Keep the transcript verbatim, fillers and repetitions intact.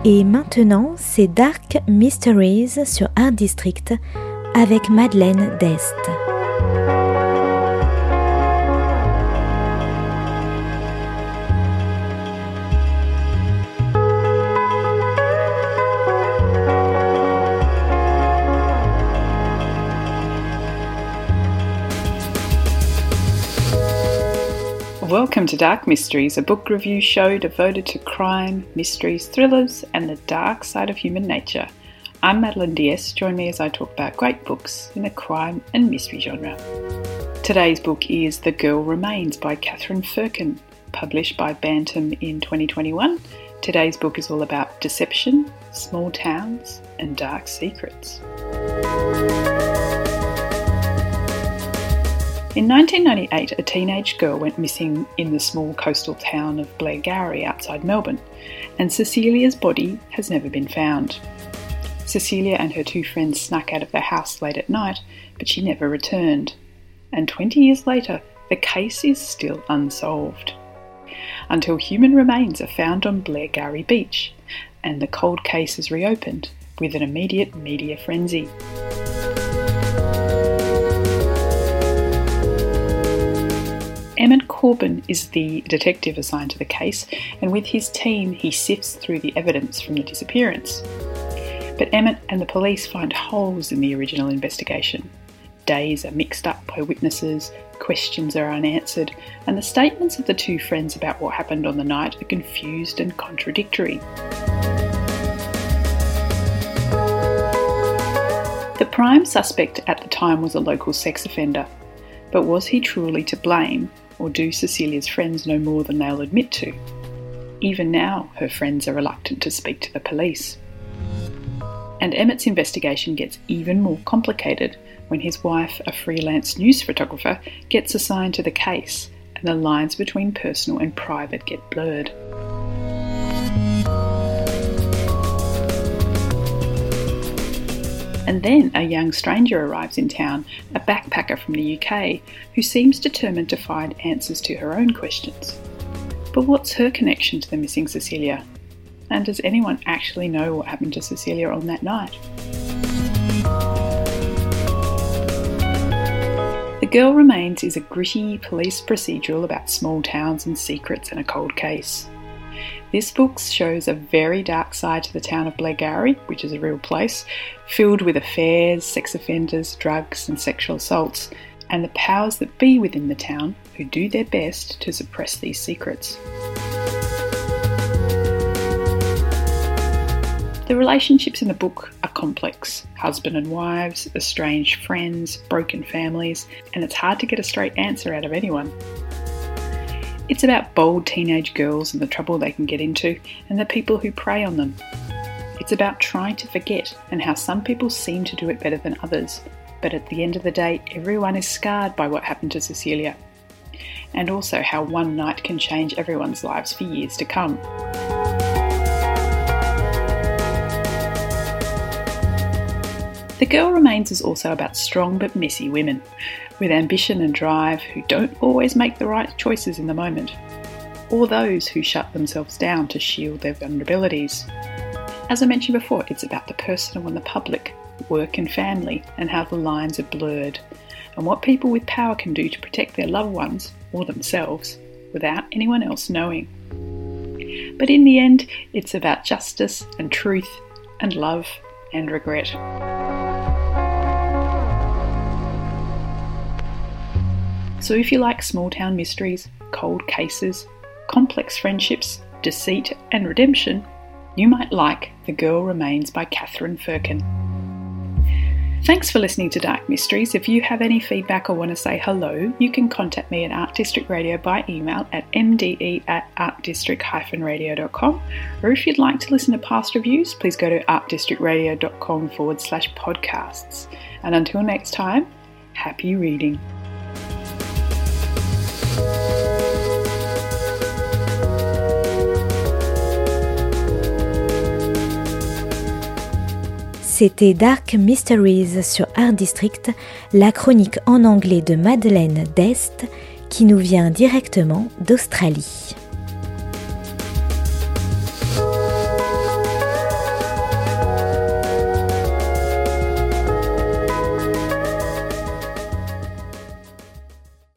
Et maintenant, c'est Dark Mysteries sur Art District avec Madeleine Dest. Welcome to Dark Mysteries, a book review show devoted to crime, mysteries, thrillers, and the dark side of human nature. I'm Madeleine Dest. Join me as I talk about great books in the crime and mystery genre. Today's book is The Girl Remains by Catherine Firkin, published by Bantam in twenty twenty-one. Today's book is all about deception, small towns, and dark secrets. In nineteen ninety-eight, a teenage girl went missing in the small coastal town of Blairgowrie outside Melbourne, and Cecilia's body has never been found. Cecilia and her two friends snuck out of their house late at night, but she never returned. And twenty years later, the case is still unsolved. Until human remains are found on Blairgowrie Beach, and the cold case is reopened with an immediate media frenzy. Emmett Corbin is the detective assigned to the case, and with his team he sifts through the evidence from the disappearance. But Emmett and the police find holes in the original investigation. Days are mixed up by witnesses, questions are unanswered, and the statements of the two friends about what happened on the night are confused and contradictory. The prime suspect at the time was a local sex offender, but was he truly to blame? Or do Cecilia's friends know more than they'll admit to? Even now, her friends are reluctant to speak to the police. And Emmett's investigation gets even more complicated when his wife, a freelance news photographer, gets assigned to the case, and the lines between personal and private get blurred. And then a young stranger arrives in town, a backpacker from the U K, who seems determined to find answers to her own questions. But what's her connection to the missing Cecilia? And does anyone actually know what happened to Cecilia on that night? The Girl Remains is a gritty police procedural about small towns and secrets and a cold case. This book shows a very dark side to the town of Blairgowrie, which is a real place, filled with affairs, sex offenders, drugs and sexual assaults, and the powers that be within the town who do their best to suppress these secrets. The relationships in the book are complex. Husband and wives, estranged friends, broken families, and it's hard to get a straight answer out of anyone. It's about bold teenage girls and the trouble they can get into, and the people who prey on them. It's about trying to forget and how some people seem to do it better than others, but at the end of the day, everyone is scarred by what happened to Cecilia. And also how one night can change everyone's lives for years to come. The Girl Remains is also about strong but messy women, with ambition and drive who don't always make the right choices in the moment, or those who shut themselves down to shield their vulnerabilities. As I mentioned before, it's about the personal and the public, work and family, and how the lines are blurred, and what people with power can do to protect their loved ones, or themselves, without anyone else knowing. But in the end, it's about justice and truth and love and regret. So if you like small town mysteries, cold cases, complex friendships, deceit and redemption, you might like The Girl Remains by Catherine Firkin. Thanks for listening to Dark Mysteries. If you have any feedback or want to say hello, you can contact me at Art District Radio by email at m d e at art district dash radio dot com. Or if you'd like to listen to past reviews, please go to artdistrictradio.com forward slash podcasts. And until next time, happy reading. C'était Dark Mysteries sur Art District, la chronique en anglais de Madeleine Dest qui nous vient directement d'Australie.